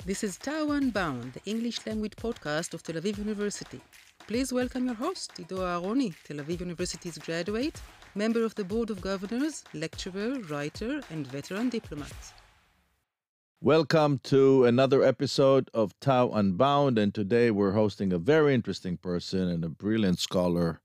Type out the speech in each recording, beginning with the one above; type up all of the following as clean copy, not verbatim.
This is Tao Unbound, the English language podcast of Tel Aviv University. Please welcome your host, Ido Aharoni, Tel Aviv University's graduate, member of the Board of Governors, lecturer, writer, and veteran diplomat. Welcome to another episode of Tao Unbound, and today we're hosting a very interesting person and a brilliant scholar,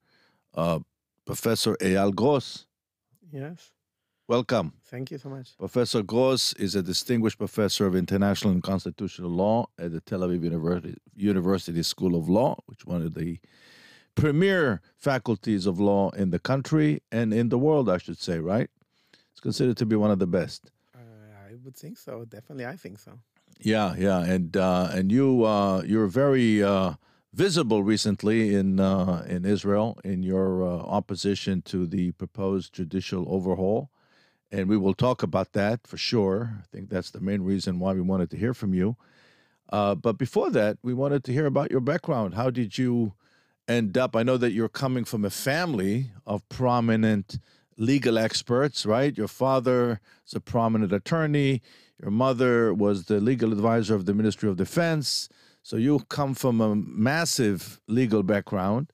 Professor Eyal Gross. Yes. Welcome. Thank you so much. Professor Gross is a distinguished professor of international and constitutional law at the Tel Aviv University School of Law, which is one of the premier faculties of law in the country and in the world, I should say, right? It's considered to be one of the best. I would think so. Definitely, I think so. Yeah, and you're very visible recently in Israel in your opposition to the proposed judicial overhaul. And we will talk about that for sure. I think that's the main reason why we wanted to hear from you. But before that, we wanted to hear about your background. How did you end up? I know that you're coming from a family of prominent legal experts, right? Your father is a prominent attorney. Your mother was the legal advisor of the Ministry of Defense. So you come from a massive legal background.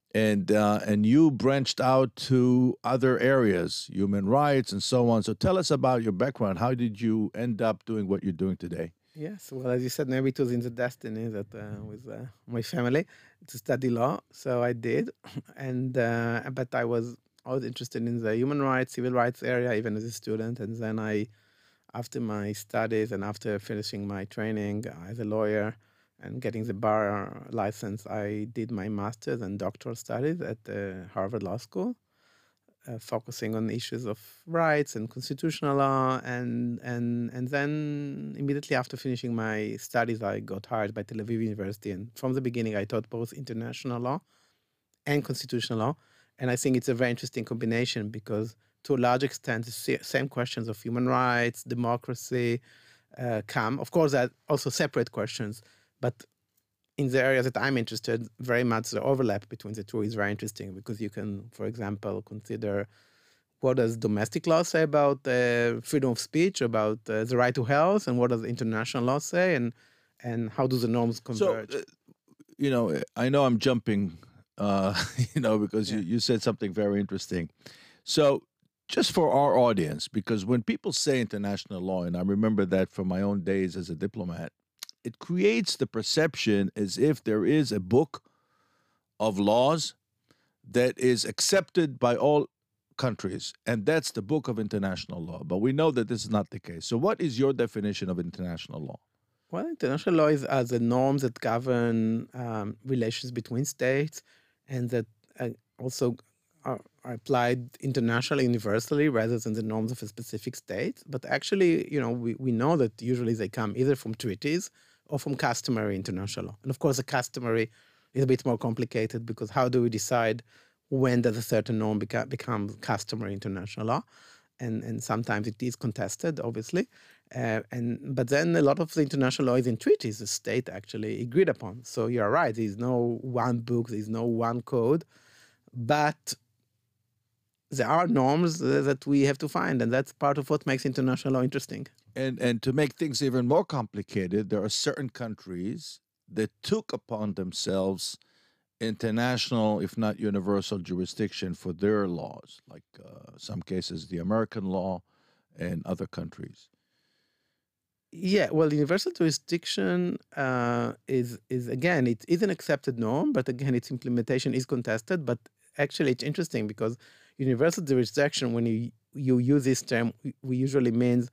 And you branched out to other areas, human rights and so on. So tell us about your background. How did you end up doing what you're doing today? Yes. Well, as you said, maybe it was in the destiny that with my family to study law. So I did, and but I was always interested in the human rights, civil rights area, even as a student. And then after my studies and after finishing my training as a lawyer and getting the bar license, I did my master's and doctoral studies at the Harvard Law School, focusing on issues of rights and constitutional law. And then immediately after finishing my studies, I got hired by Tel Aviv University. And from the beginning, I taught both international law and constitutional law. And I think it's a very interesting combination because to a large extent, the same questions of human rights, democracy come. Of course, there are also separate questions. But in the areas that I'm interested, very much the overlap between the two is very interesting because you can, for example, consider what does domestic law say about freedom of speech, about the right to health, and what does international law say, and how do the norms converge? So, I know I'm jumping, because you said something very interesting. So just for our audience, because when people say international law, and I remember that from my own days as a diplomat, it creates the perception as if there is a book of laws that is accepted by all countries, and that's the book of international law. But we know that this is not the case. So what is your definition of international law? Well, international law is the norms that govern relations between states and that also are applied internationally, universally, rather than the norms of a specific state. But actually, we know that usually they come either from treaties or from customary international law. And of course, the customary is a bit more complicated because how do we decide when does a certain norm become customary international law? And sometimes it is contested, obviously. But then a lot of the international law is in treaties the state actually agreed upon. So you're right, there's no one book, there's no one code, but there are norms that we have to find, and that's part of what makes international law interesting. And to make things even more complicated, there are certain countries that took upon themselves international, if not universal, jurisdiction for their laws, like some cases the American law and other countries. Yeah, well, universal jurisdiction is again, it is an accepted norm, but again, its implementation is contested. But actually, it's interesting because universal jurisdiction, when you use this term, we usually means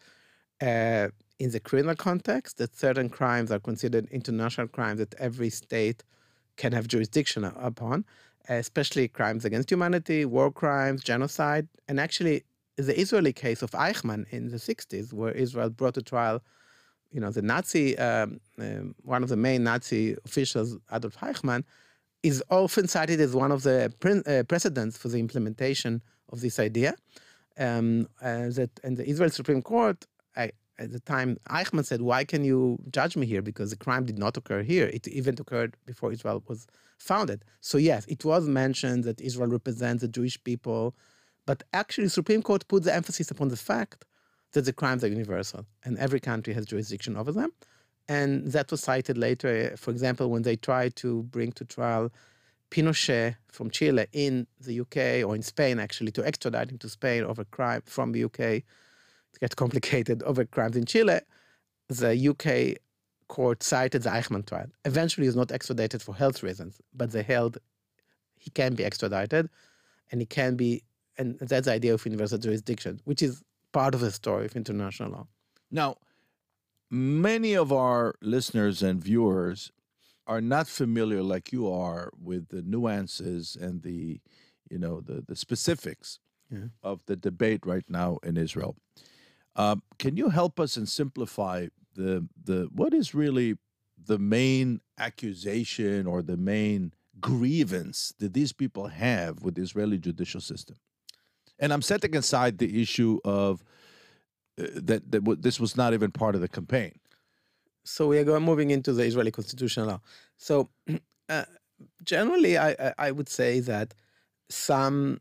in the criminal context that certain crimes are considered international crimes that every state can have jurisdiction upon, especially crimes against humanity, war crimes, genocide. And actually, the Israeli case of Eichmann in the 60s, where Israel brought to trial, the Nazi, one of the main Nazi officials, Adolf Eichmann, is often cited as one of the precedents for the implementation of this idea. And the Israel Supreme Court, at the time, Eichmann said, why can you judge me here? Because the crime did not occur here. It even occurred before Israel was founded. So yes, it was mentioned that Israel represents the Jewish people, but actually the Supreme Court put the emphasis upon the fact that the crimes are universal and every country has jurisdiction over them. And that was cited later, for example, when they tried to bring to trial Pinochet from Chile in the UK, or in Spain, actually, to extradite him to Spain over crime from the UK. It gets complicated, over crimes in Chile. The UK court cited the Eichmann trial. Eventually, he was not extradited for health reasons, but they held he can be extradited, and he can be, and that's the idea of universal jurisdiction, which is part of the story of international law. Now, many of our listeners and viewers are not familiar like you are with the nuances and the specifics of the debate right now in Israel. Can you help us and simplify the what is really the main accusation or the main grievance that these people have with the Israeli judicial system? And I'm setting aside the issue of this was not even part of the campaign. So we are moving into the Israeli constitutional law. So generally, I would say that some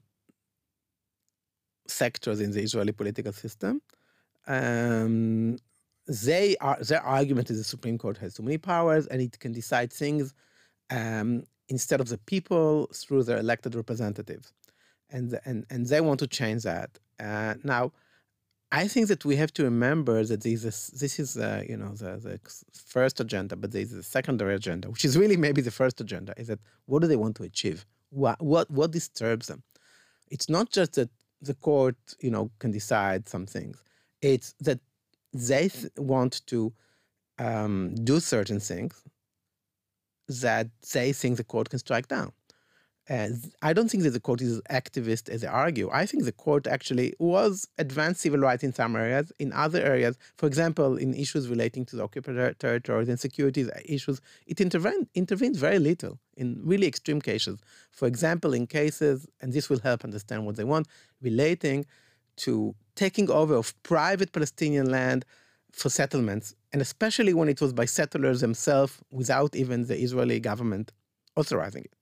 sectors in the Israeli political system, their argument is the Supreme Court has too many powers and it can decide things instead of the people through their elected representatives, and they want to change that. Now, I think that we have to remember that this is the first agenda, but there is a secondary agenda, which is really maybe the first agenda. Is that what do they want to achieve? What disturbs them? It's not just that the court can decide some things. It's that they want to do certain things that they think the court can strike down. I don't think that the court is activist as they argue. I think the court actually was advanced civil rights in some areas. In other areas, for example, in issues relating to the occupied territories and security issues, it intervened very little in really extreme cases. For example, in cases, and this will help understand what they want, relating to taking over of private Palestinian land for settlements, and especially when it was by settlers themselves without even the Israeli government authorizing it.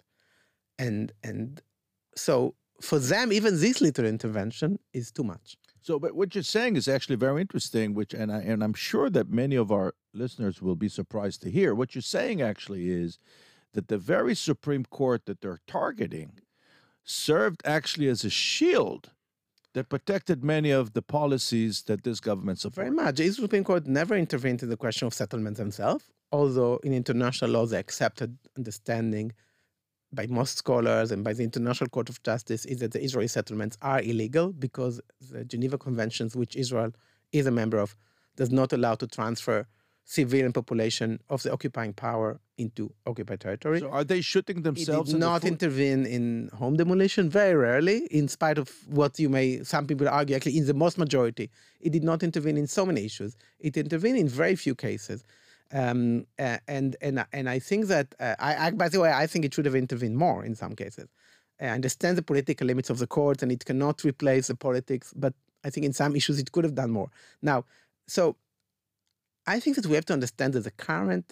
And so for them, even this little intervention is too much. So, but what you're saying is actually very interesting, and I'm sure that many of our listeners will be surprised to hear. What you're saying actually is that the very Supreme Court that they're targeting served actually as a shield that protected many of the policies that this government supports. Very much. The Supreme Court never intervened in the question of settlements themselves, although in international law they accepted understanding by most scholars and by the International Court of Justice is that the Israeli settlements are illegal because the Geneva Conventions, which Israel is a member of, does not allow to transfer civilian population of the occupying power into occupied territory. So are they shooting themselves? It did not intervene in home demolition, very rarely, in spite of what some people argue, actually in the most majority. It did not intervene in so many issues. It intervened in very few cases. And I think that, by the way, I think it should have intervened more in some cases. I understand the political limits of the court and it cannot replace the politics, but I think in some issues it could have done more. Now, so I think that we have to understand that the current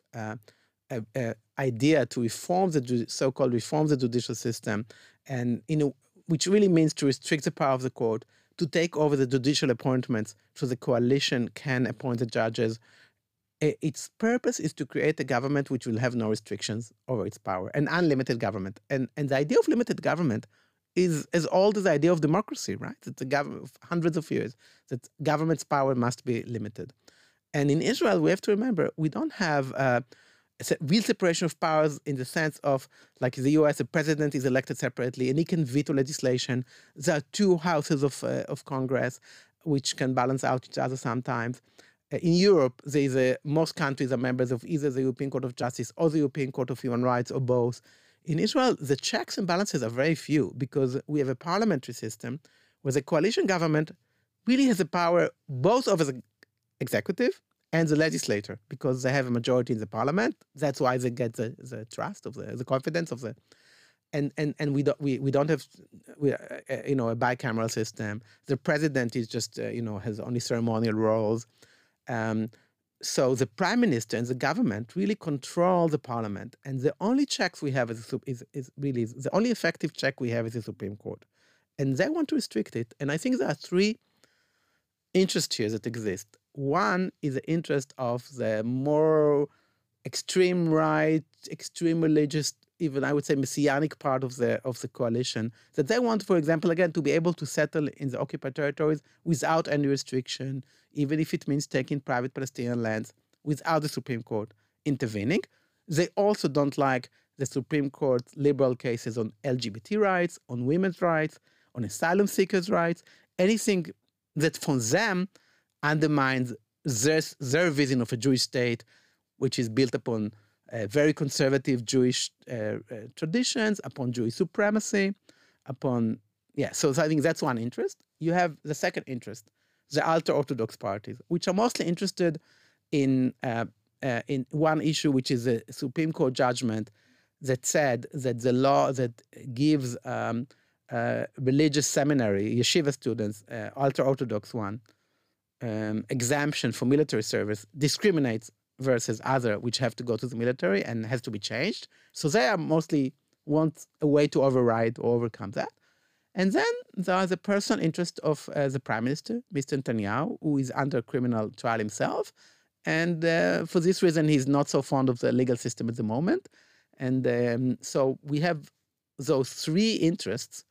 idea to reform the so-called reform the judicial system, and which really means to restrict the power of the court, to take over the judicial appointments so the coalition can appoint the judges. Its purpose is to create a government which will have no restrictions over its power, an unlimited government. And the idea of limited government is as old as the idea of democracy, right? It's a government of hundreds of years, that government's power must be limited. And in Israel, we have to remember, we don't have real separation of powers in the sense of, like in the US, the president is elected separately and he can veto legislation. There are two houses of Congress which can balance out each other sometimes. In Europe, most countries are members of either the European Court of Justice or the European Court of Human Rights or both. In Israel, the checks and balances are very few because we have a parliamentary system where the coalition government really has the power both over the executive and the legislature because they have a majority in the parliament. That's why they get the trust of the confidence of the. And we don't have a bicameral system. The president is just has only ceremonial roles. So the prime minister and the government really control the parliament, and the only checks we have is the only effective check we have is the Supreme Court, and they want to restrict it. And I think there are three interests here that exist. One is the interest of the more extreme right, extreme religious, even I would say messianic part of the coalition, that they want, for example, again, to be able to settle in the occupied territories without any restriction, even if it means taking private Palestinian lands without the Supreme Court intervening. They also don't like the Supreme Court's liberal cases on LGBT rights, on women's rights, on asylum seekers' rights, anything that for them undermines their vision of a Jewish state, which is built upon very conservative Jewish traditions, upon Jewish supremacy, upon, so I think that's one interest. You have the second interest, the ultra-Orthodox parties, which are mostly interested in one issue, which is a Supreme Court judgment that said that the law that gives religious seminary, yeshiva students, ultra-Orthodox one, exemption for military service discriminates versus other which have to go to the military and has to be changed. So they are mostly want a way to override or overcome that. And then there is the personal interest of the Prime Minister, Mr. Netanyahu, who is under criminal trial himself. And for this reason, he's not so fond of the legal system at the moment. And so we have those three interests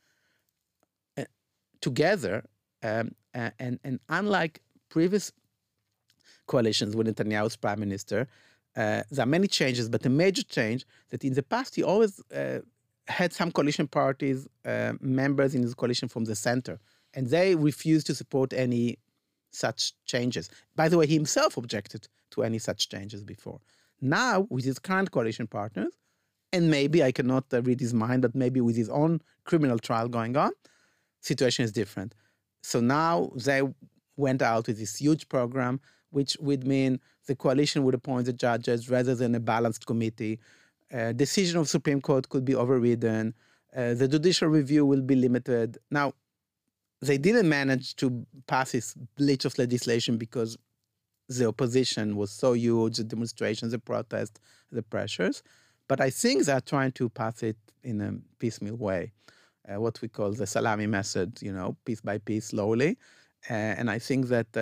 together. And unlike previous coalitions with Netanyahu as prime minister, there are many changes, but a major change that in the past he always had some coalition parties, members in his coalition from the center, and they refused to support any such changes. By the way, he himself objected to any such changes before. Now, with his current coalition partners, and maybe I cannot read his mind, but maybe with his own criminal trial going on, situation is different. So now they went out with this huge program, which would mean the coalition would appoint the judges rather than a balanced committee. Decision of Supreme Court could be overridden. The judicial review will be limited. Now, they didn't manage to pass this bleach of legislation because the opposition was so huge, the demonstrations, the protests, the pressures. But I think they're trying to pass it in a piecemeal way, what we call the salami method, piece by piece, slowly. And I think that,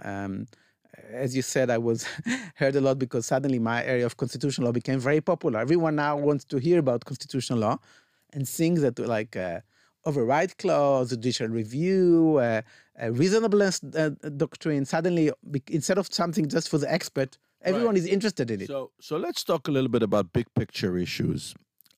as you said, I was heard a lot because suddenly my area of constitutional law became very popular. Everyone now wants to hear about constitutional law and things that like override clause, judicial review, reasonableness doctrine. Suddenly, instead of something just for the expert, everyone is interested in it. So let's talk a little bit about big picture issues.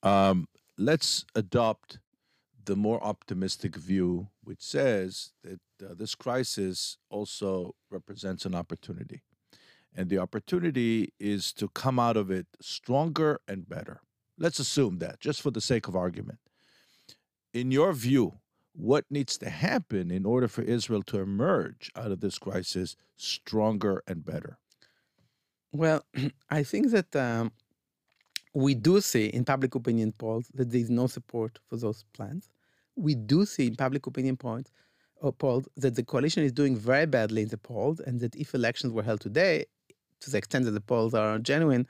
Let's adopt the more optimistic view, which says that this crisis also represents an opportunity. And the opportunity is to come out of it stronger and better. Let's assume that, just for the sake of argument. In your view, what needs to happen in order for Israel to emerge out of this crisis stronger and better? Well, I think that we do see in public opinion polls that there is no support for those plans. We do see in public opinion polls that the coalition is doing very badly in the polls, and that if elections were held today, to the extent that the polls are genuine,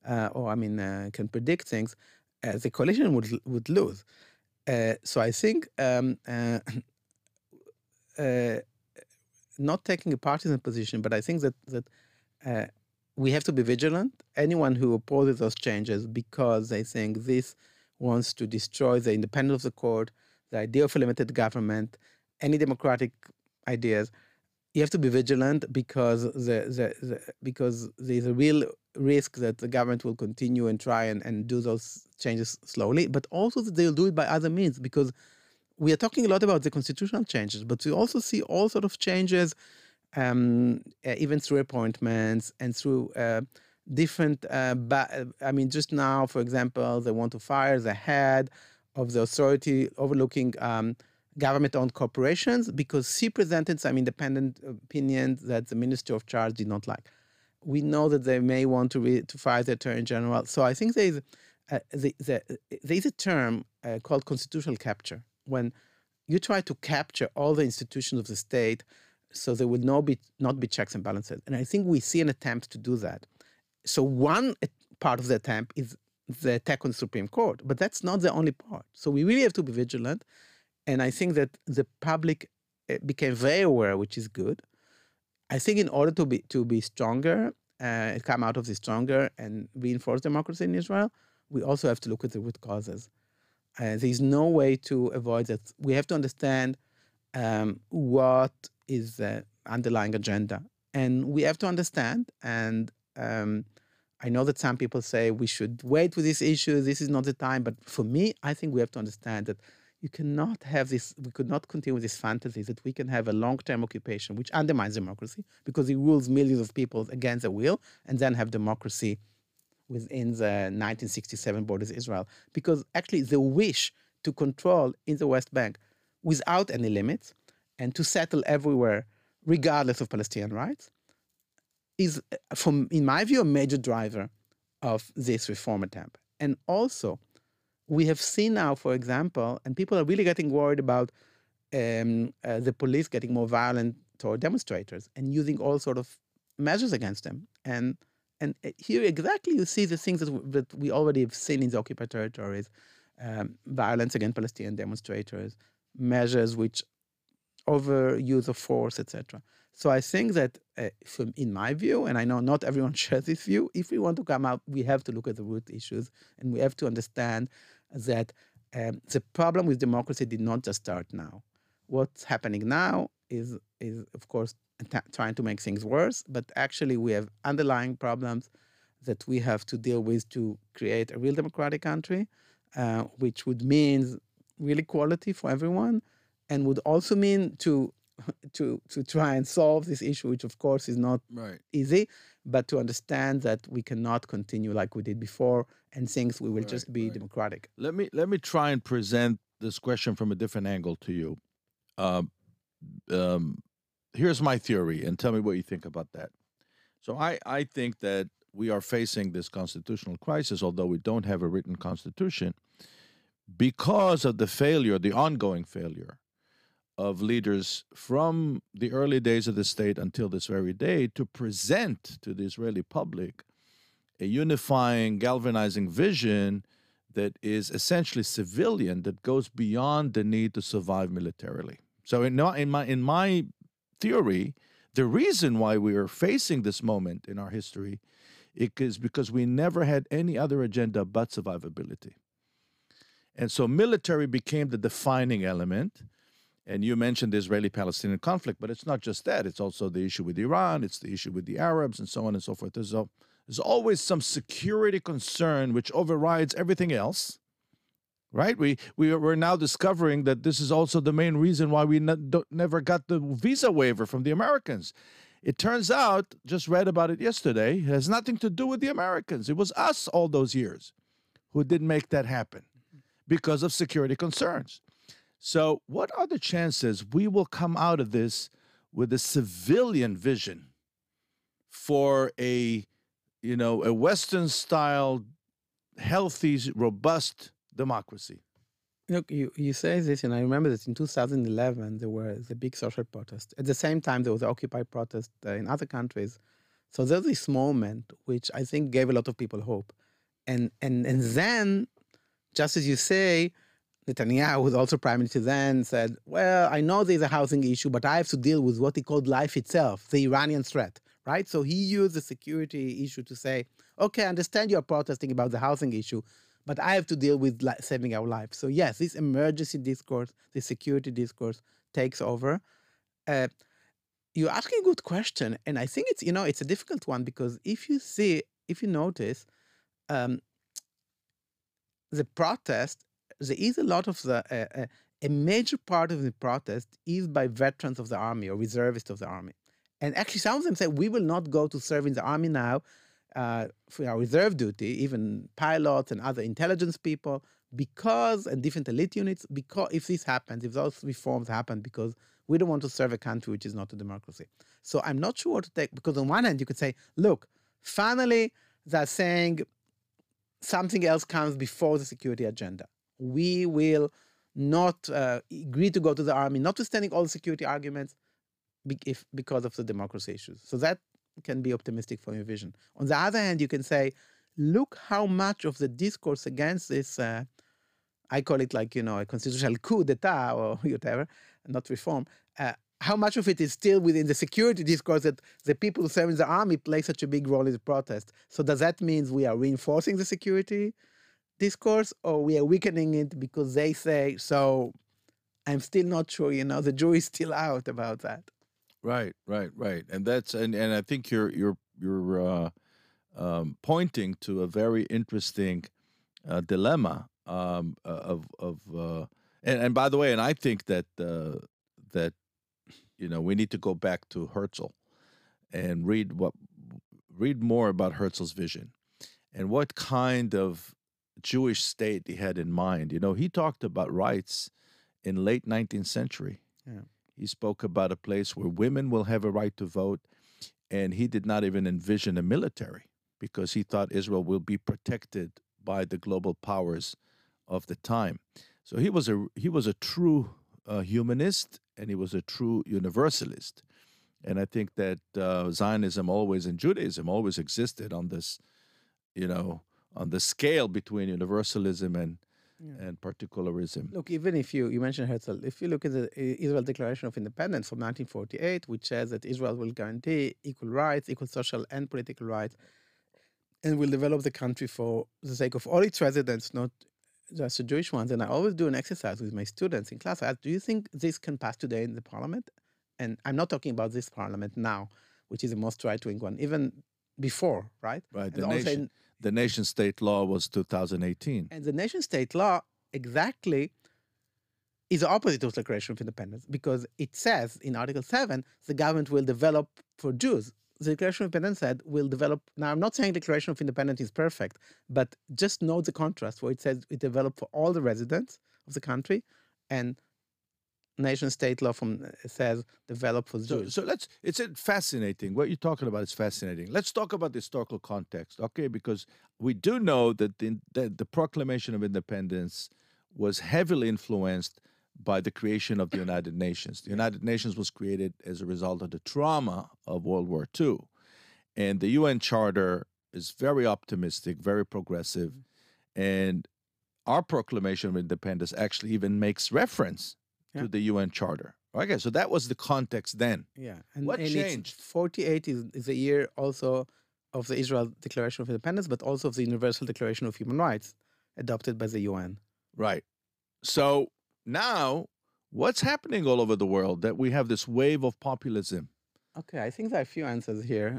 can predict things, the coalition would lose. So I think not taking a partisan position, but I think that we have to be vigilant. Anyone who opposes those changes because they think this wants to destroy the independence of the court, the idea of a limited government, any democratic ideas, you have to be vigilant because because there's a real risk that the government will continue and try and do those changes slowly, but also that they'll do it by other means, because we are talking a lot about the constitutional changes, but we also see all sort of changes, even through appointments and through different, just now, for example, they want to fire the head of the authority overlooking government-owned corporations because she presented some independent opinions that the Minister of Charge did not like. We know that they may want to fire the Attorney General. So I think there's a term called constitutional capture, when you try to capture all the institutions of the state so there would not be checks and balances. And I think we see an attempt to do that. So one part of the attempt is the attack on the Supreme Court, but that's not the only part. So we really have to be vigilant. And I think that the public became very aware, which is good. I think in order to be stronger, come out of this stronger and reinforce democracy in Israel, we also have to look at the root causes. There's no way to avoid that. We have to understand what is the underlying agenda, and we have to understand. And I know that some people say we should wait with this issue. This is not the time. But for me, I think we have to understand that you cannot have this. We could not continue with this fantasy that we can have a long-term occupation which undermines democracy because it rules millions of people against their will, and then have democracy within the 1967 borders of Israel. Because actually the wish to control in the West Bank without any limits and to settle everywhere regardless of Palestinian rights is, in my view, a major driver of this reform attempt. And also, we have seen now, for example, and people are really getting worried about the police getting more violent toward demonstrators and using all sort of measures against them. And here exactly you see the things that we already have seen in the occupied territories, violence against Palestinian demonstrators, measures which overuse of force, etc. So I think that, in my view, and I know not everyone shares this view, if we want to come out, we have to look at the root issues, and we have to understand that the problem with democracy did not just start now. What's happening now is of course, trying to make things worse, but actually we have underlying problems that we have to deal with to create a real democratic country, which would mean real equality for everyone, and would also mean to try and solve this issue, which of course is not easy, but to understand that we cannot continue like we did before and things we will just be democratic. Let me try and present this question from a different angle to you. Here's my theory, and tell me what you think about that. So I think that we are facing this constitutional crisis, although we don't have a written constitution, because of the ongoing failure of leaders from the early days of the state until this very day to present to the Israeli public a unifying, galvanizing vision that is essentially civilian, that goes beyond the need to survive militarily. So in my theory, the reason why we are facing this moment in our history is because we never had any other agenda but survivability. And so military became the defining element. And you mentioned the Israeli-Palestinian conflict, but it's not just that. It's also the issue with Iran. It's the issue with the Arabs and so on and so forth. There's always some security concern which overrides everything else, right? We're now discovering that this is also the main reason why we never got the visa waiver from the Americans. It turns out, just read about it yesterday, it has nothing to do with the Americans. It was us all those years who didn't make that happen because of security concerns. So what are the chances we will come out of this with a civilian vision for a Western-style, healthy, robust democracy? Look, you say this, and I remember that in 2011, there were the big social protest. At the same time, there was the Occupy protest in other countries. So there's this moment which I think gave a lot of people hope. And then, just as you say, Netanyahu, who was also prime minister then, said, well, I know there's a housing issue, but I have to deal with what he called life itself, the Iranian threat, right? So he used the security issue to say, okay, I understand you're protesting about the housing issue, but I have to deal with saving our lives. So yes, this emergency discourse, this security discourse takes over. You're asking a good question, and I think it's a difficult one, because if you notice, the protest, there is a lot of a major part of the protest is by veterans of the army or reservists of the army. And actually some of them say, we will not go to serve in the army now for our reserve duty, even pilots and other intelligence people, and different elite units, because if this happens, if those reforms happen, because we don't want to serve a country which is not a democracy. So I'm not sure what to take, because on one hand you could say, look, finally they're saying something else comes before the security agenda. We will not agree to go to the army, notwithstanding all the security arguments, because of the democracy issues. So that can be optimistic for your vision. On the other hand, you can say, look how much of the discourse against this, I call it a constitutional coup d'etat or whatever, not reform, how much of it is still within the security discourse that the people who serve in the army play such a big role in the protest? So does that mean we are reinforcing the security discourse, or we are weakening it because they say so? I'm still not sure. The jury is still out about that. Right, and that's and I think you're pointing to a very interesting dilemma and by the way, and I think that that we need to go back to Herzl and read more about Herzl's vision and what kind of Jewish state he had in mind. He talked about rights in late 19th century. Yeah. He spoke about a place where women will have a right to vote, and he did not even envision a military because he thought Israel will be protected by the global powers of the time. So he was a true humanist, and he was a true universalist. And I think that Zionism always and Judaism always existed on this, on the scale between universalism and particularism. Look, even if you mentioned Herzl, if you look at the Israel Declaration of Independence from 1948, which says that Israel will guarantee equal rights, equal social and political rights, and will develop the country for the sake of all its residents, not just the Jewish ones. And I always do an exercise with my students in class. I ask, do you think this can pass today in the parliament? And I'm not talking about this parliament now, which is the most right-wing one, even before, right? Right. And the nation-state law was 2018. And the nation-state law exactly is the opposite of the Declaration of Independence, because it says in Article 7, the government will develop for Jews. The Declaration of Independence said will develop. Now, I'm not saying the Declaration of Independence is perfect, but just note the contrast where it says it developed for all the residents of the country, and nation-state law says develop for Jews. So it's fascinating. What you're talking about is fascinating. Let's talk about the historical context, okay? Because we do know that the Proclamation of Independence was heavily influenced by the creation of the United Nations. The United Nations was created as a result of the trauma of World War II. And the UN Charter is very optimistic, very progressive. And our Proclamation of Independence actually even makes reference to the UN Charter. Okay, so that was the context then. Yeah. What changed? 48 is a year also of the Israel Declaration of Independence, but also of the Universal Declaration of Human Rights adopted by the UN. Right. So now, what's happening all over the world that we have this wave of populism? Okay, I think there are a few answers here.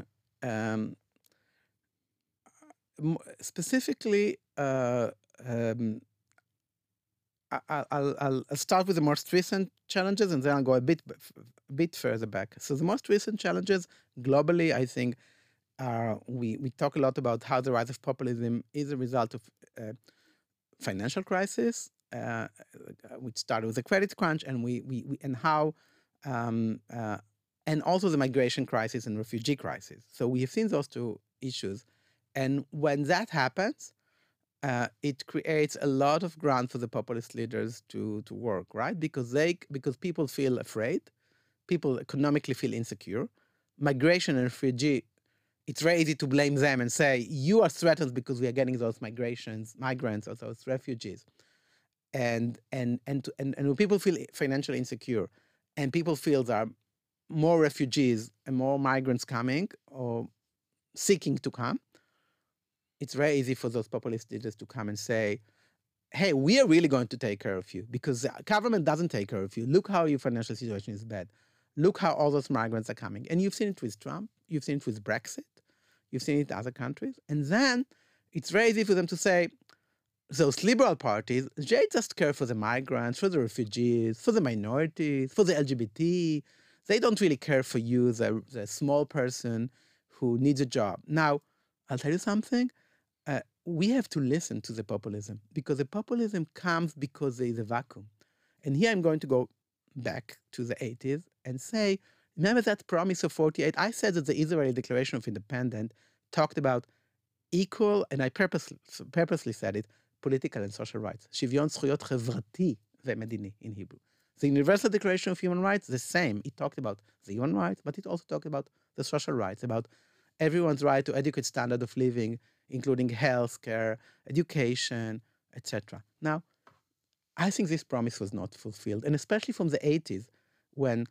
Specifically, I'll start with the most recent challenges, and then I'll go a bit further back. So the most recent challenges globally, I think, are we talk a lot about how the rise of populism is a result of financial crisis, which started with the credit crunch, and and also the migration crisis and refugee crisis. So we have seen those two issues, and when that happens, it creates a lot of ground for the populist leaders to work, right? Because people feel afraid, people economically feel insecure. Migration and refugee, it's very easy to blame them and say, you are threatened because we are getting those migrants or those refugees. And when people feel financially insecure, and people feel there are more refugees and more migrants coming or seeking to come, it's very easy for those populist leaders to come and say, hey, we are really going to take care of you because the government doesn't take care of you. Look how your financial situation is bad. Look how all those migrants are coming. And you've seen it with Trump. You've seen it with Brexit. You've seen it in other countries. And then it's very easy for them to say, those liberal parties, they just care for the migrants, for the refugees, for the minorities, for the LGBT. They don't really care for you, the small person who needs a job. Now, I'll tell you something. We have to listen to the populism, because the populism comes because there is a vacuum. And here I'm going to go back to the 80s and say, remember that promise of 48? I said that the Israeli Declaration of Independence talked about equal, and I purposely said it, political and social rights. Shivyon zchuyot chevrati ve'medini in Hebrew. The Universal Declaration of Human Rights, the same. It talked about the human rights, but it also talked about the social rights, about everyone's right to adequate standard of living, including health care, education, etc. Now, I think this promise was not fulfilled, and especially from the 80s, when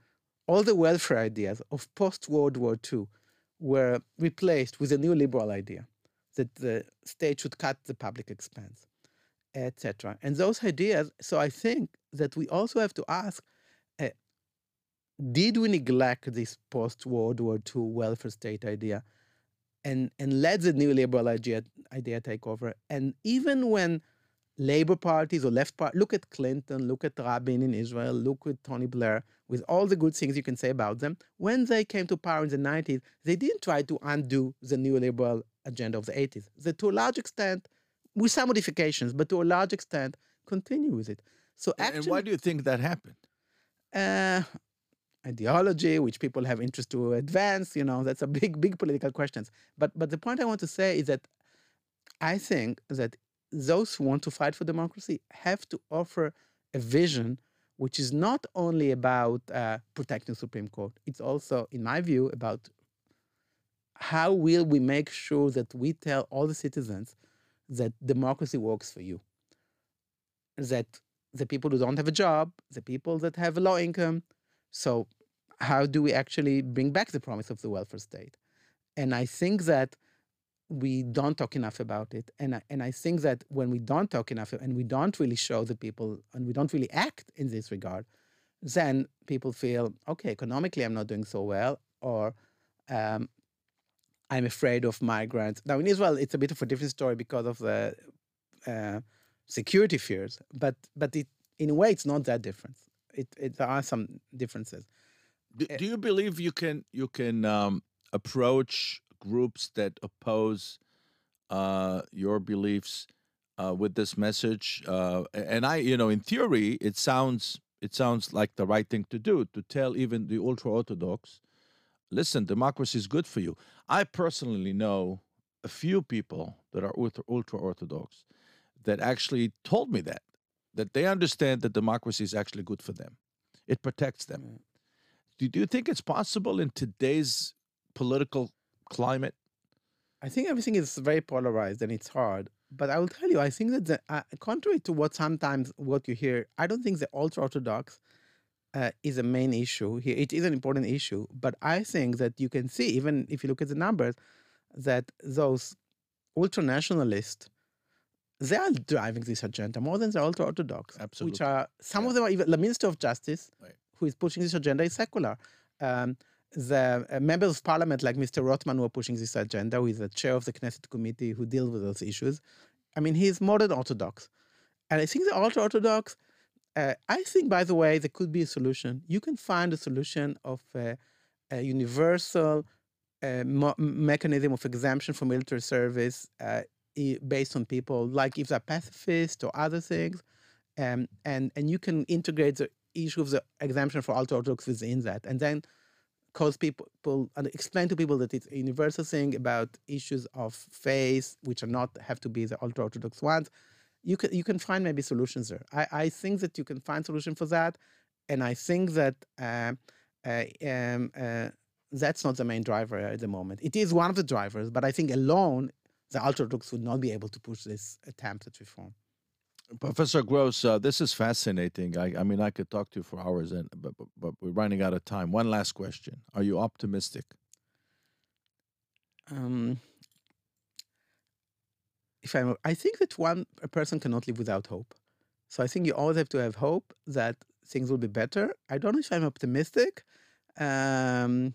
all the welfare ideas of post-World War II were replaced with a new liberal idea that the state should cut the public expense, etc. And those ideas, so I think that we also have to ask, uh, did we neglect this post-World War II welfare state idea and let the new liberal idea take over? And even when labor parties or left party, look at Clinton, look at Rabin in Israel, look at Tony Blair, with all the good things you can say about them, when they came to power in the 90s, they didn't try to undo the neoliberal agenda of the 80s. They, to a large extent, with some modifications, but to a large extent, continue with it. So actually, and why do you think that happened? Ideology, which people have interest to advance, that's a big political questions. But the point I want to say is that I think that those who want to fight for democracy have to offer a vision which is not only about protecting the Supreme Court. It's also, in my view, about how will we make sure that we tell all the citizens that democracy works for you, that the people who don't have a job, the people that have a low income. So how do we actually bring back the promise of the welfare state? And I think that we don't talk enough about it. And I think that when we don't talk enough and we don't really show the people and we don't really act in this regard, then people feel, okay, economically I'm not doing so well, or I'm afraid of migrants. Now in Israel, it's a bit of a different story because of the security fears, but it, in a way, it's not that different. There are some differences. Do you believe you can approach groups that oppose your beliefs with this message? And in theory, it sounds like the right thing to do, to tell even the ultra-Orthodox, listen, democracy is good for you. I personally know a few people that are ultra-Orthodox that actually told me that they understand that democracy is actually good for them. It protects them. Mm. Do you think it's possible in today's political climate? I think everything is very polarized and it's hard. But I will tell you, I think that contrary to what you hear, I don't think the ultra-Orthodox is a main issue here. It is an important issue, but I think that you can see, even if you look at the numbers, that those ultra-nationalists, they are driving this agenda more than the ultra-Orthodox. Absolutely. Which are, some of them are even, the Minister of Justice, right, who is pushing this agenda, is secular. The members of parliament like Mr. Rothman who are pushing this agenda, who is the chair of the Knesset committee who deals with those issues. I mean, he's modern Orthodox. And I think the ultra-Orthodox, I think, by the way, there could be a solution. You can find a solution of a universal mechanism of exemption from military service based on people, like if they're pacifist or other things. And you can integrate the issue of the exemption for ultra-Orthodox within that. And then cause people and explain to people that it's a universal thing about issues of faith, which are not have to be the ultra-Orthodox ones. You can find maybe solutions there. I think that you can find solution for that, and I think that that's not the main driver at the moment. It is one of the drivers, but I think alone the ultra-Orthodox would not be able to push this attempt at reform. Professor Gross, this is fascinating. I mean, I could talk to you for hours, but we're running out of time. One last question: are you optimistic? I think that a person cannot live without hope. So I think you always have to have hope that things will be better. I don't know if I'm optimistic, but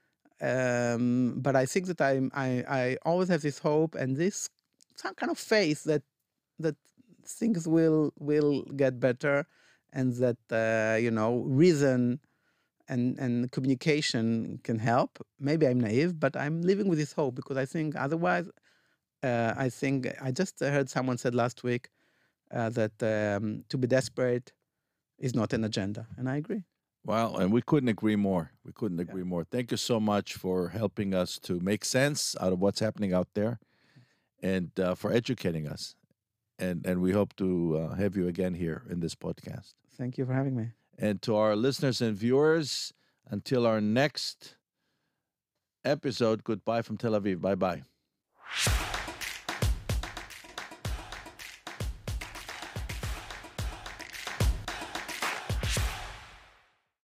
I think that I always have this hope and this some kind of faith that things will get better, and that reason and communication can help. Maybe I'm naive, but I'm living with this hope because I think otherwise. I think I just heard someone said last week that to be desperate is not an agenda, and I agree. Well, and we couldn't agree more. We couldn't agree more. Thank you so much for helping us to make sense out of what's happening out there, and for educating us. And we hope to have you again here in this podcast. Thank you for having me. And to our listeners and viewers, until our next episode, goodbye from Tel Aviv. Bye-bye.